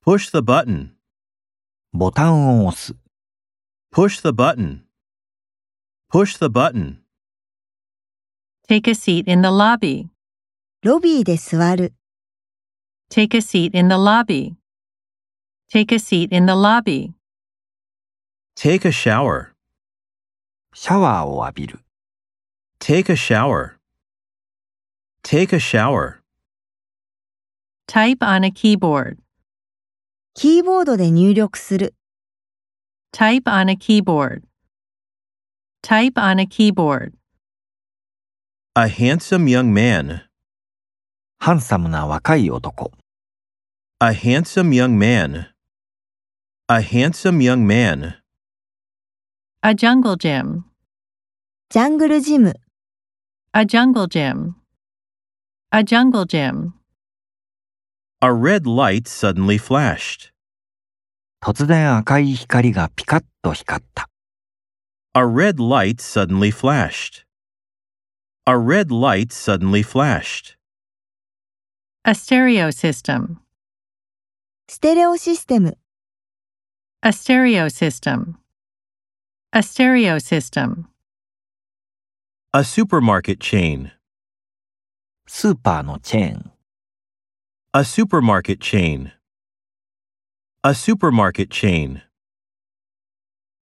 Push the button. ボタンを押す。 Push the button. Push the button. Take a seat in the lobby. ロビーで座る。 Take a seat in the lobby. Take a seat in the lobby. Take a shower. シャワーを浴びる。 Take a shower. Take a shower. Type on a keyboard. キーボードで入力する。 Type on a keyboard. Type on a keyboard. A handsome young man. ハンサムな若い男。 A handsome young man. A handsome young man. A jungle gym. ジャングルジム。 A jungle gym. A jungle gym. A red light suddenly flashed. 突然赤い光がピカッと光った。 A red light suddenly flashed. A red light suddenly flashed. A stereo system. ステレオシステム。 A stereo system. A stereo system. A supermarket chain. スーパーのチェーン。 A supermarket chain. A supermarket chain.